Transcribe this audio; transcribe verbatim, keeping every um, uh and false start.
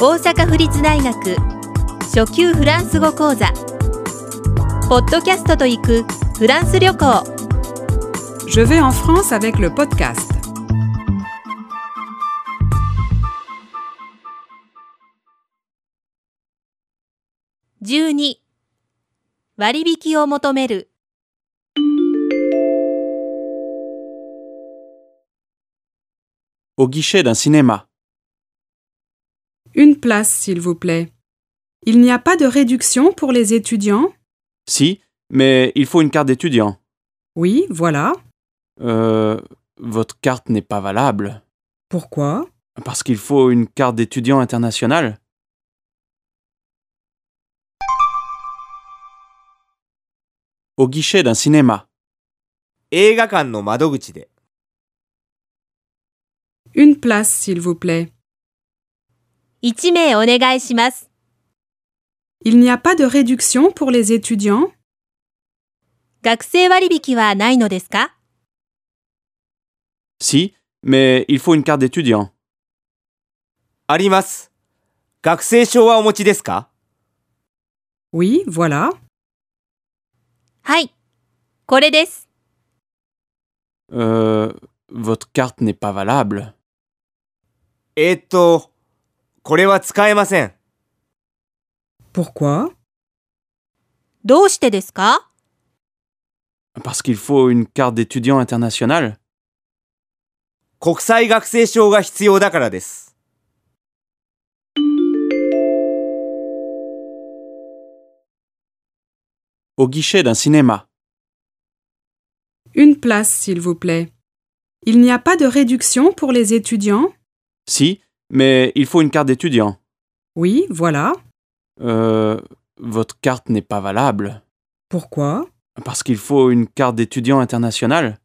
大阪府立大学初級フランス語講座ポッドキャストと行くフランス旅行 Je vais en France avec le podcast. じゅうに割引を求める Au guichet d'un cinéma. Une place, s'il vous plaît. Il n'y a pas de réduction pour les étudiants? Si, mais il faut une carte d'étudiant. Oui, voilà. Euh, votre carte n'est pas valable. Pourquoi? Parce qu'il faut une carte d'étudiant internationale. Au guichet d'un cinéma. 映画館の窓口で Une place, s'il vous plaît. いち名お願いします Il n'y a pas de réduction pour les étudiants? 学生割引はないのですか Si, mais il faut une carte d'étudiant. あります。学生証はお持ちですか？ Oui, voilà. はい、これです Euh, votre carte n'est pas valable. えーっと、これは使えません。 Pourquoi? どうしてですか Parce qu'il faut une carte d'étudiant internationale. 国際学生証が必要だからです。 Au guichet d'un cinéma. Une place, s'il vous plaît. Il n'y a pas de réduction pour les étudiants? Si, mais il faut une carte d'étudiant. Oui, voilà. Euh, votre carte n'est pas valable. Pourquoi? Parce qu'il faut une carte d'étudiant internationale.